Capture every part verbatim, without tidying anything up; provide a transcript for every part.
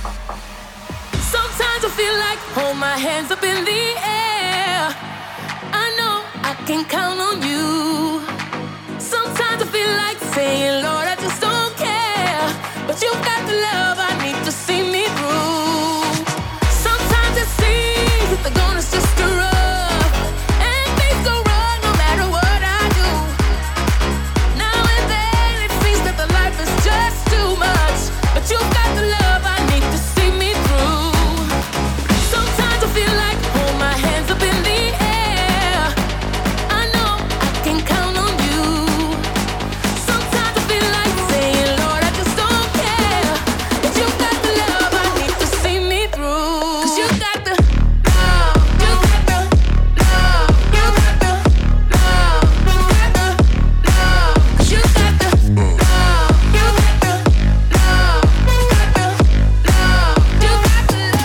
Sometimes I feel like hold my hands up in the air. I know I can count on you. Sometimes I feel like saying, Lord, I just don't care. But you've got the love I need to see me through. Sometimes it seems that the going is just too rough, and things go wrong no matter what I do. Now and then it seems that the life is just too much, but you've got the love I need to see me through. Sometimes I feel like hold my hands up in the air. I know I can count on you. Sometimes I feel like saying, Lord, I just don't care. But you got the love I need to see me through. 'Cause you got the love, you got the love, you got the love, you got the love. 'Cause you got the love, you got the love, you got the love, you got the love.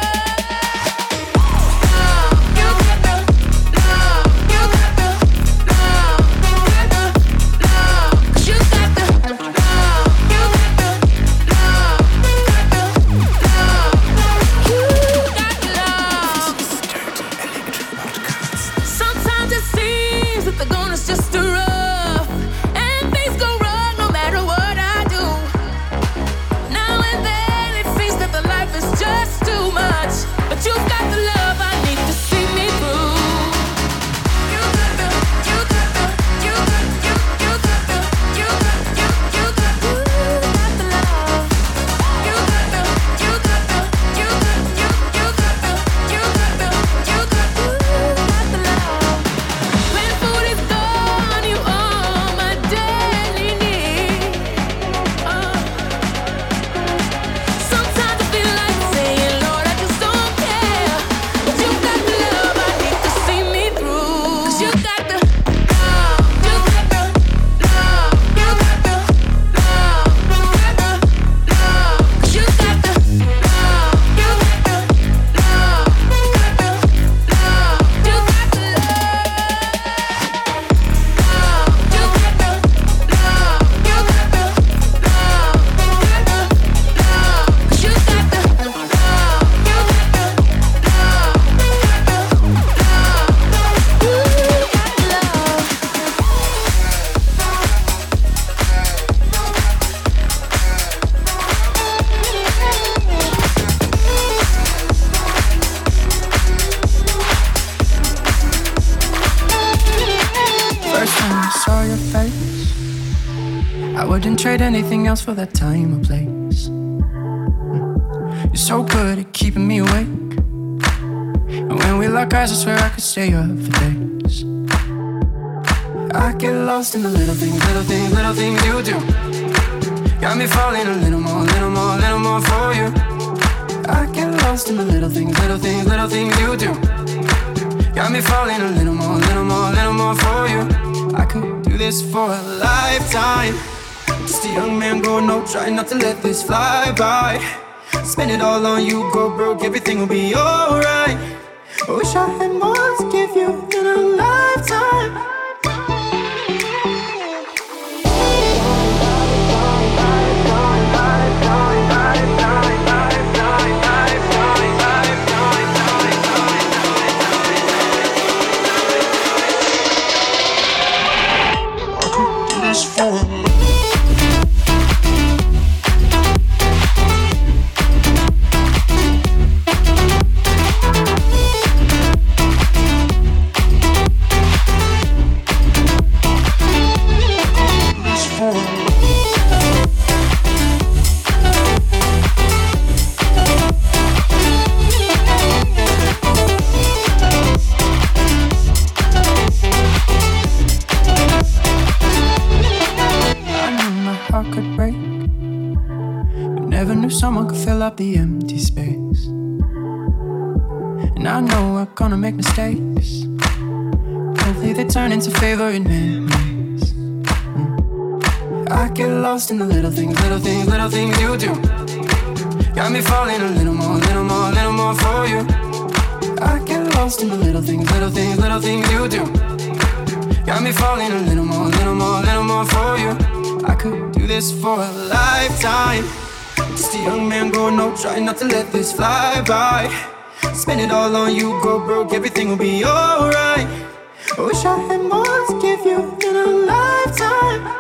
Sometimes it seems that the going is just too rough, and things go wrong no matter what I do. Now and then it seems that the life is just too much, but you've got the love I need to see me through. You got the, you got the, you got, you, you got the, you got, you, you got, you got the love. You got the, you got the, you got, you, you got the, you got the, you got, you got the love. When food is gone, you are my daily need. Uh. Sometimes I feel like saying, Lord, I just don't care. But you got the love I need to see me through. 'Cause you got the love, you got the love, you got the love, you got the love. 'Cause you got the love, you got the love, you got the love, you got the First time I saw your face, I wouldn't trade anything else for that time or place. You're so good at keeping me awake, and when we lock eyes I swear I could stay up for days. I get lost in the little things, little things, little things you do. Got me falling a little more, little more, little more for you. I get lost in the little things, little things, little things you do. Got me falling a little more, little more, little more for you. I could do this for a lifetime. Just a young man going no, trying not to let this fly by. Spend it all on you, go broke, everything will be alright. I wish I had more to give you in a lifetime. Someone could fill up the empty space. And I know we're gonna make mistakes. Hopefully they turn into favorite memories. mm. I get lost in the little things, little things, little things you do. Got me falling a little more, little more, little more for you. I get lost in the little things, little things, little things you do. Got me falling a little more, little more, little more for you. I could do this for a lifetime. Just a young man growing up, trying not to let this fly by. Spend it all on you, go broke, everything will be alright. I wish I had more to give you in a lifetime.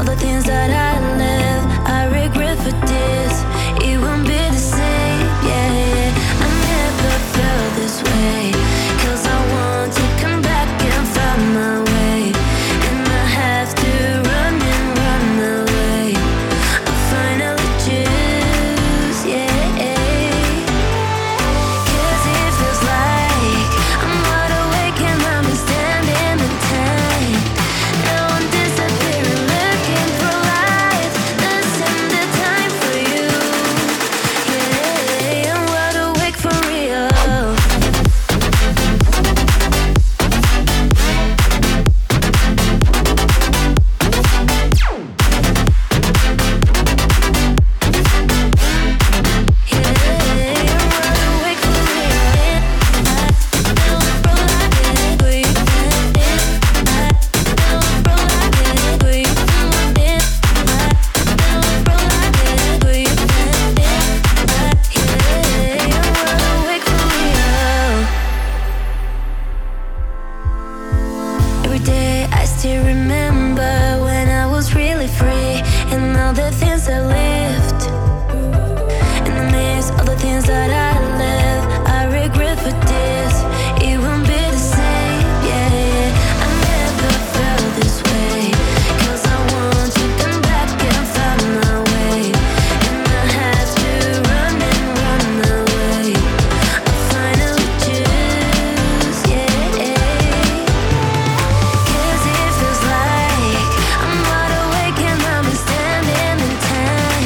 the things that I left, I regret for this. It won't be the same, yeah. I never felt this way, 'cause I want to come back and find my way, and I have to run and run away. I finally choose, yeah. 'Cause it feels like I'm wide awake and I'm standing in time. Now I'm disappearing, looking for life. This ain't the time for you, yeah. I'm wide awake for real. Every day I still remember when I was really free, and all the things I lived. In the midst of the things that I left, I regret for this. It won't be the same, yeah. I never felt this way, 'cause I want to come back and find my way, and I have to run and run away. I finally choose, yeah. 'Cause it feels like I'm wide awake and I'm standing in time.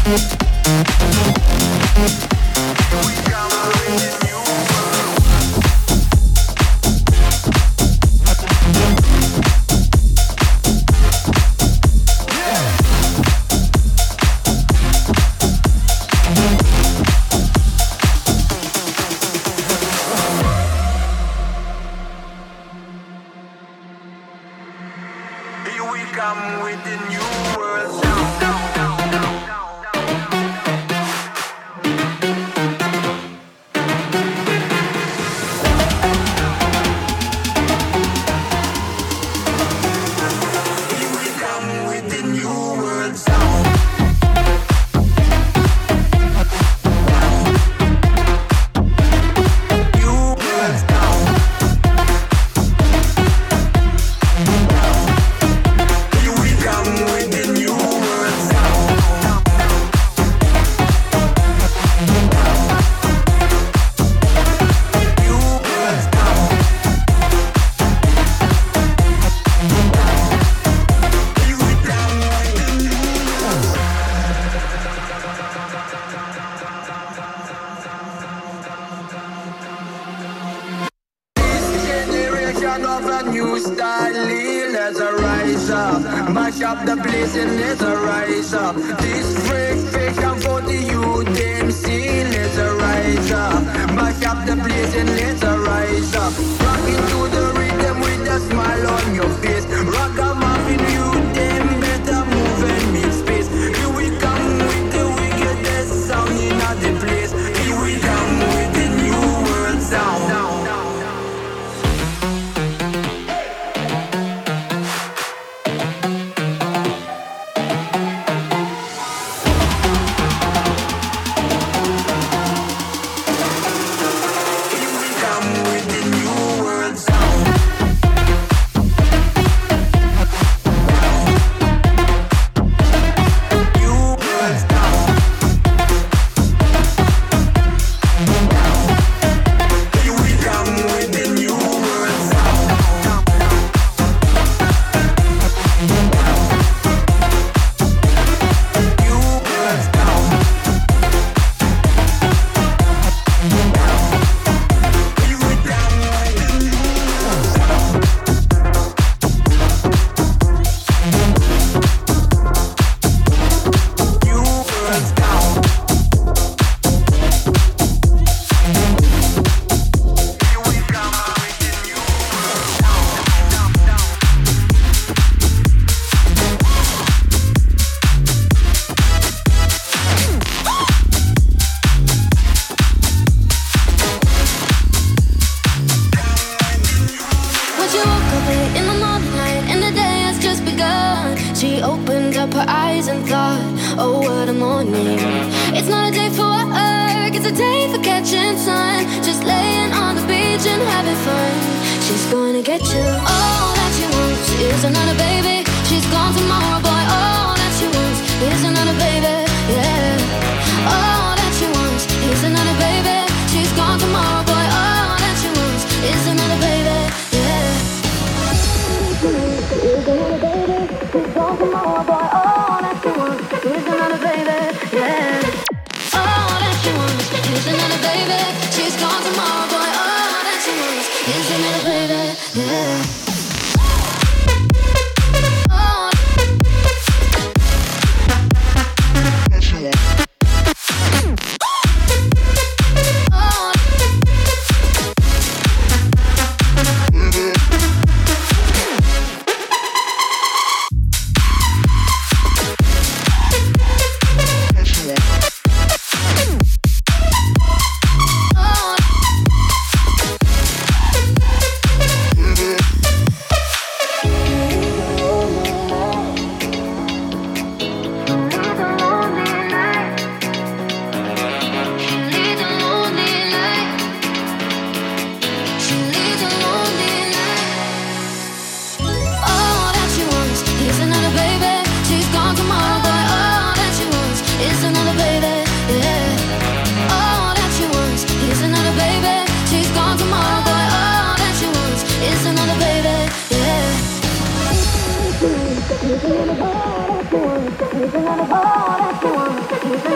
He's another boy that you want. He's another boy that you want. He's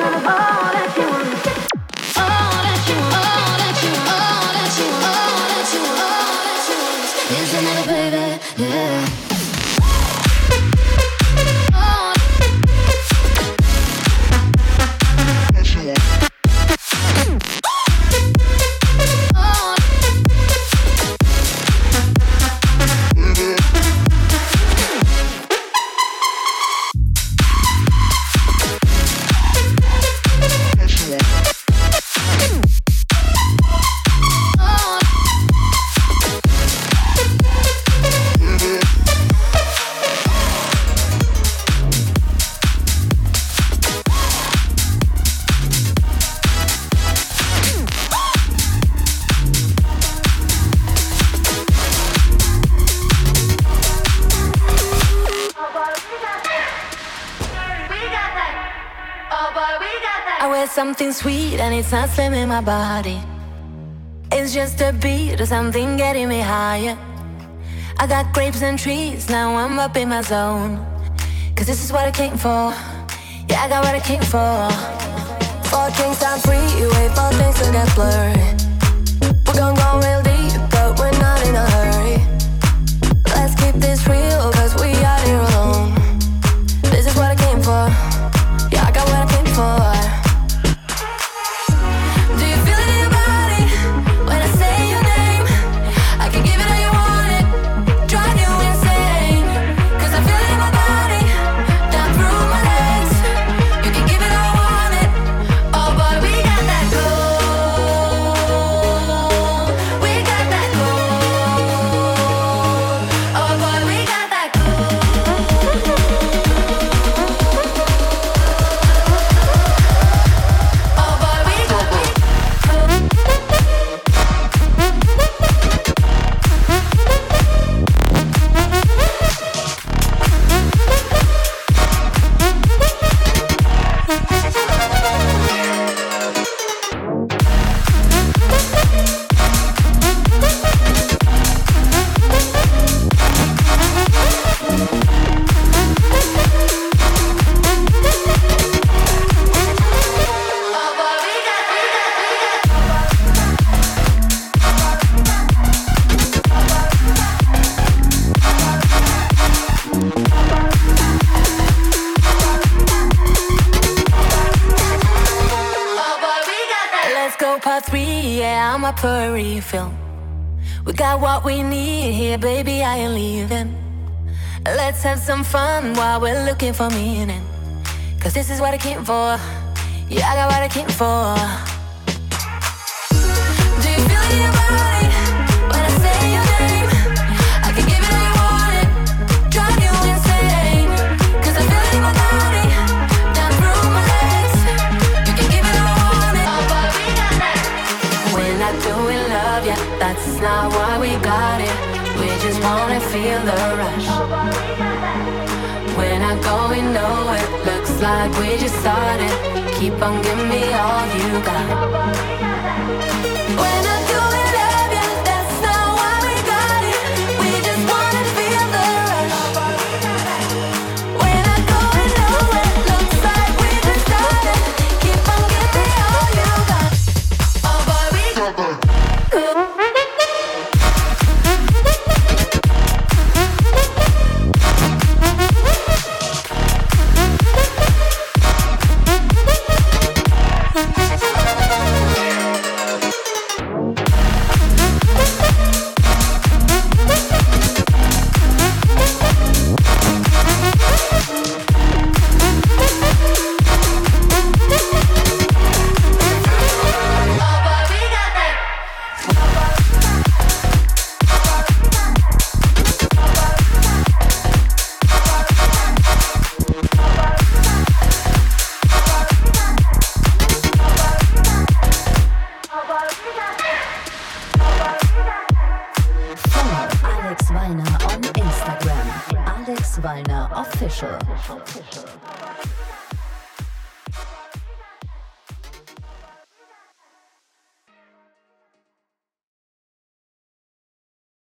Something sweet and it's not slimming my body. It's just a beat or something getting me higher. I got grapes and trees, now I'm up in my zone. Cause this is what I came for. Yeah, I got what I came for. Four drinks on freeway, four things to get blurry. We're gonna go real deep, but we're not in a hurry. Let's keep this real, cause we are here alone. This is what I came for. Yeah, I got what I came for. Up for a refill. We got what we need here, baby, I ain't leaving. Let's have some fun while we're looking for meaning. Cause this is what I came for. Yeah, I got what I came for. Do you feel it in your body when I say your name? I can give it all you want it, drive you insane. Cause I feel it in my body, down through my legs. You can give it all I want it. Oh, but we got that. We're not doing love yet, that's not why we got it. We just wanna feel the rush. We're not going nowhere, looks like we just started. Keep on giving me all you got. We're not doing love yet, that's not why we got it. We just wanna feel the rush. We're not going nowhere, looks like we just started. Keep on giving me all you got. Oh boy, we got that. Alex Wallner Official.